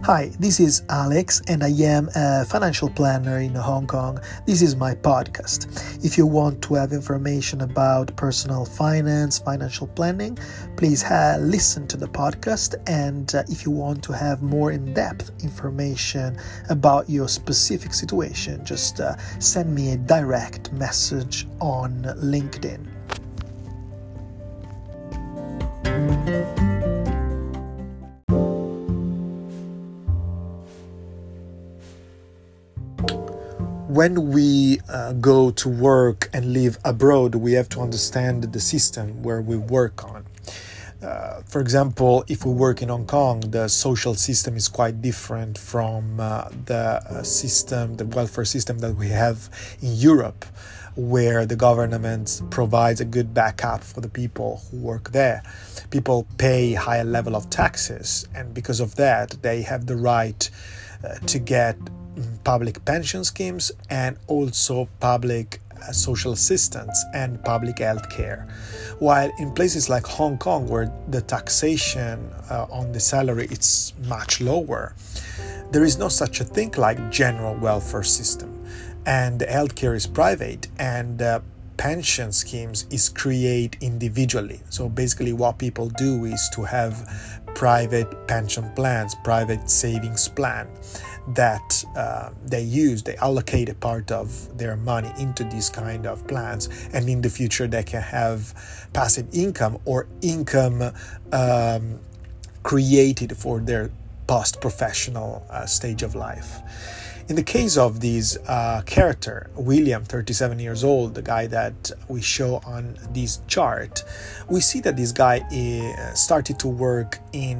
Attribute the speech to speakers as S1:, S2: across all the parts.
S1: Hi, this is Alex and I am a financial planner in Hong Kong. This is my podcast. If you want to have information about personal finance, financial planning, please listen to the podcast. And if you want to have more in-depth information about your specific situation, just send me a direct message on LinkedIn. When we go to work and live abroad, we have to understand the system where we work on. For example, if we work in Hong Kong, the social system is quite different from the welfare system that we have in Europe, where the government provides a good backup for the people who work there. People pay higher level of taxes, and because of that, they have the right to get public pension schemes and also public social assistance and public health care. While in places like Hong Kong, where the taxation on the salary is much lower, there is no such a thing like general welfare system, and the healthcare is private, and pension schemes is created individually. So basically what people do is to have private pension plans, private savings plan that they allocate a part of their money into these kind of plans, and in the future they can have passive income or income created for their post-professional stage of life. In the case of this character, William, 37 years old, the guy that we show on this chart, we see that this guy started to work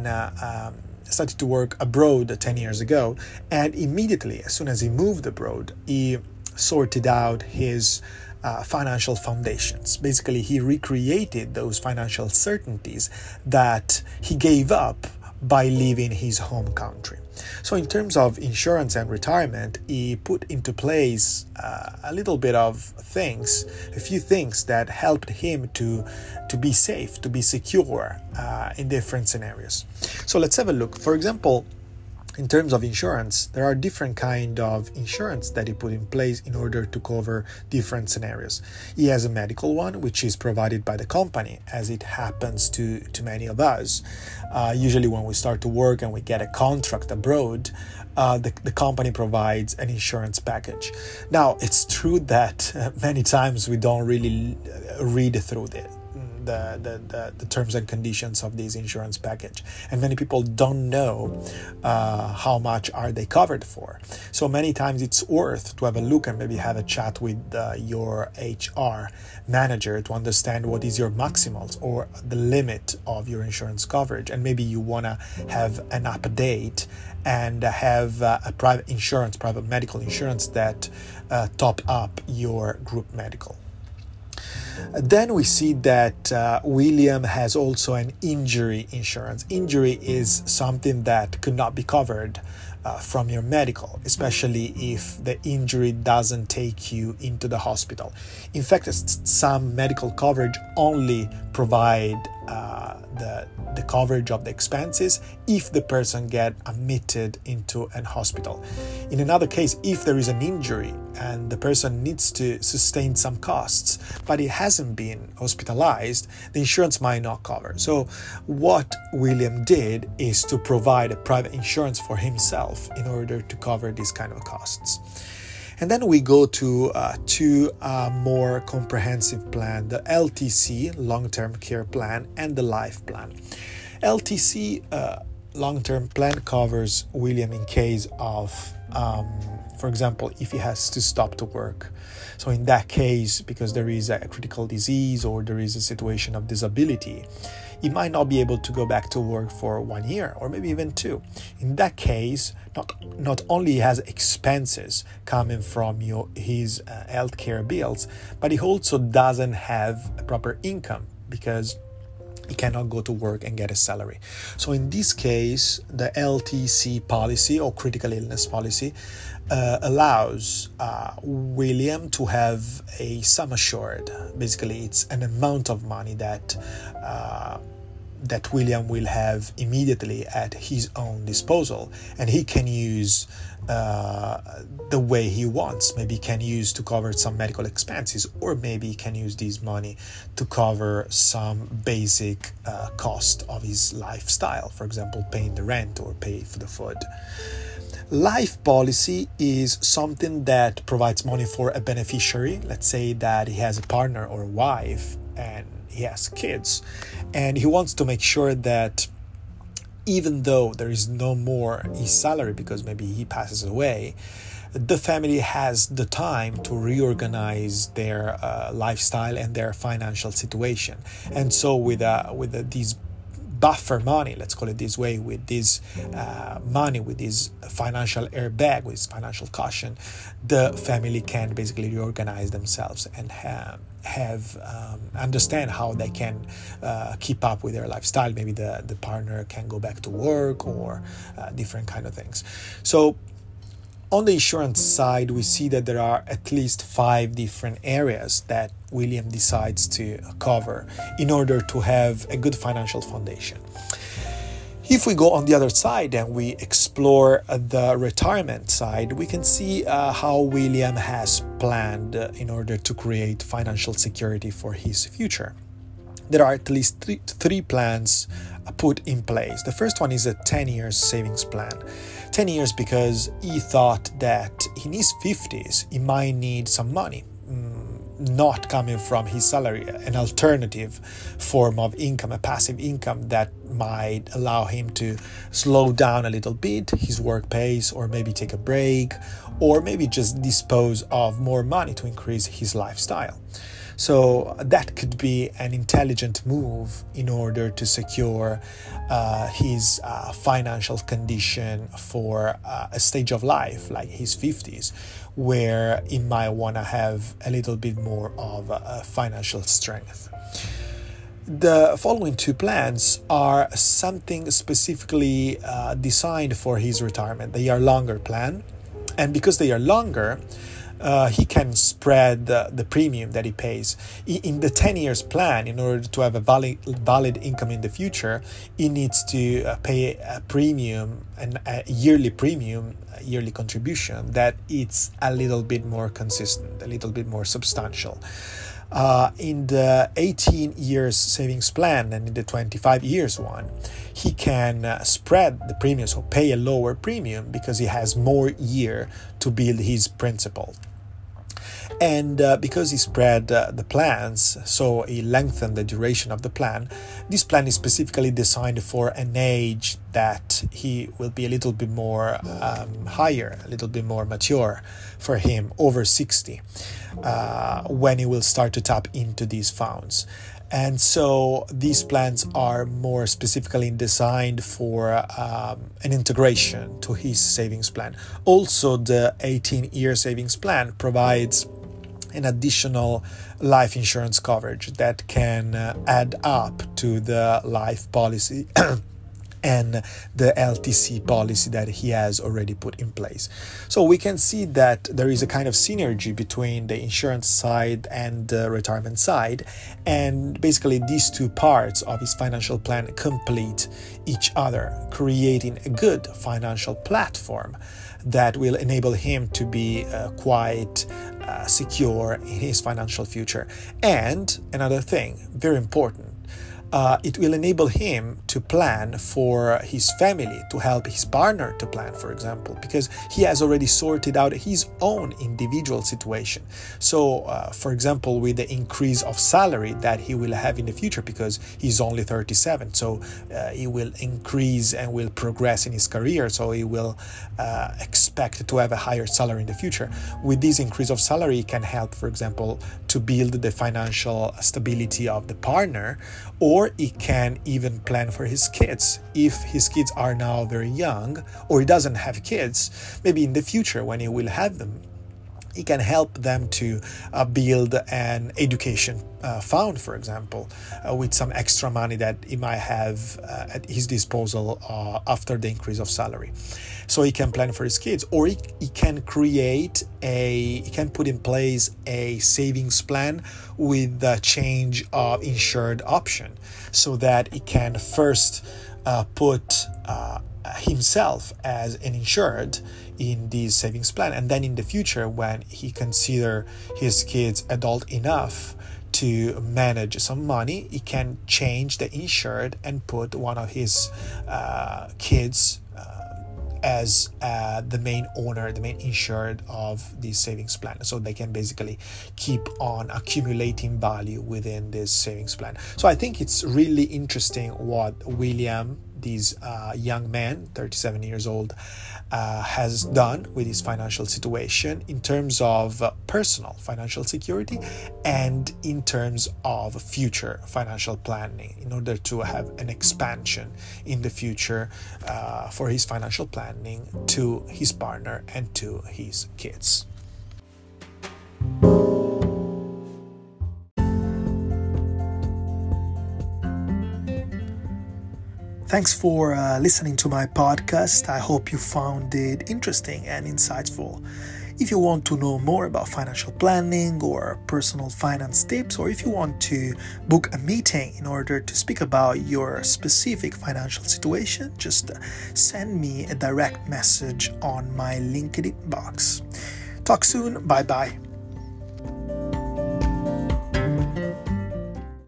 S1: abroad 10 years ago, and immediately, as soon as he moved abroad, he sorted out his financial foundations. Basically, he recreated those financial certainties that he gave up by leaving his home country. So in terms of insurance and retirement, he put into place a few things that helped him to be safe, to be secure in different scenarios. So let's have a look. For example, in terms of insurance, there are different kind of insurance that he put in place in order to cover different scenarios. He has a medical one, which is provided by the company, as it happens to many of us. Usually when we start to work and we get a contract abroad, the company provides an insurance package. Now, it's true that many times we don't really read through the terms and conditions of this insurance package, and many people don't know how much are they covered for. So many times it's worth to have a look and maybe have a chat with your HR manager to understand what is your maximals or the limit of your insurance coverage, and maybe you want to have an update and have a private medical insurance that top up your group medical. Then we see that William has also an injury insurance. Injury is something that could not be covered from your medical, especially if the injury doesn't take you into the hospital. In fact, some medical coverage only provide the coverage of the expenses if the person get admitted into an hospital. In another case, if there is an injury and the person needs to sustain some costs, but he hasn't been hospitalized, the insurance might not cover. So what William did is to provide a private insurance for himself in order to cover these kind of costs. And then we go to two more comprehensive plan, the LTC, long-term care plan, and the life plan. LTC, long-term plan, covers William in case of, for example, if he has to stop to work. So in that case, because there is a critical disease or there is a situation of disability, he might not be able to go back to work for 1 year or maybe even 2. In that case, not only has expenses coming from his healthcare bills, but he also doesn't have a proper income because he cannot go to work and get a salary. So in this case, the LTC policy or critical illness policy allows William to have a sum assured. Basically, it's an amount of money that that William will have immediately at his own disposal, and he can use the way he wants. Maybe he can use to cover some medical expenses, or maybe he can use this money to cover some basic cost of his lifestyle, for example, paying the rent or pay for the food. Life policy is something that provides money for a beneficiary. Let's say that he has a partner or a wife and he has kids, and he wants to make sure that even though there is no more his salary because maybe he passes away, the family has the time to reorganize their lifestyle and their financial situation. And so with these buffer money, let's call it this way, with this money, with this financial airbag, with this financial cushion, the family can basically reorganize themselves and understand how they can keep up with their lifestyle. Maybe the partner can go back to work, or different kind of things. So on the insurance side, we see that there are at least 5 different areas that William decides to cover in order to have a good financial foundation. If we go on the other side and we explore the retirement side, we can see how William has planned in order to create financial security for his future. There are at least three plans put in place. The first one is a 10 years savings plan. 10 years because he thought that in his 50s he might need some money, not coming from his salary, an alternative form of income, a passive income that might allow him to slow down a little bit his work pace, or maybe take a break, or maybe just dispose of more money to increase his lifestyle. So that could be an intelligent move in order to secure his financial condition for a stage of life like his 50s, where he might want to have a little bit more of financial strength. The following 2 plans are something specifically designed for his retirement. They are longer plan, and because they are longer, he can spread the premium that he pays. In the 10 years plan, in order to have a valid income in the future, he needs to pay a premium, a yearly premium, a yearly contribution that it's a little bit more consistent, a little bit more substantial. In the 18 years savings plan and in the 25 years one, he can spread the premium, so pay a lower premium because he has more year to build his principal. And because he spread the plans, so he lengthened the duration of the plan, this plan is specifically designed for an age that he will be a little bit more higher, a little bit more mature for him, over 60, when he will start to tap into these funds. And so these plans are more specifically designed for an integration to his savings plan. Also, the 18-year savings plan provides an additional life insurance coverage that can add up to the life policy and the LTC policy that he has already put in place. So we can see that there is a kind of synergy between the insurance side and the retirement side, and basically these 2 parts of his financial plan complete each other, creating a good financial platform that will enable him to be quite secure in his financial future. And another thing, very important, it will enable him to plan for his family, to help his partner to plan, for example, because he has already sorted out his own individual situation. So, for example, with the increase of salary that he will have in the future, because he's only 37, so he will increase and will progress in his career, so he will expect to have a higher salary in the future. With this increase of salary, he can help, for example, to build the financial stability of the partner, or he can even plan for his kids. If his kids are now very young, or he doesn't have kids, maybe in the future when he will have them, He can help them to build an education fund, for example, with some extra money that he might have at his disposal after the increase of salary. So he can plan for his kids, or he can he can put in place a savings plan with the change of insured option, so that he can first put himself as an insured in this savings plan, and then in the future, when he consider his kids adult enough to manage some money, he can change the insured and put one of his kids as the main owner, the main insured of this savings plan, so they can basically keep on accumulating value within this savings plan. So I think it's really interesting what William, this young man, 37 years old, has done with his financial situation in terms of personal financial security and in terms of future financial planning, in order to have an expansion in the future for his financial planning to his partner and to his kids. Thanks for listening to my podcast. I hope you found it interesting and insightful. If you want to know more about financial planning or personal finance tips, or if you want to book a meeting in order to speak about your specific financial situation, just send me a direct message on my LinkedIn box. Talk soon. Bye-bye.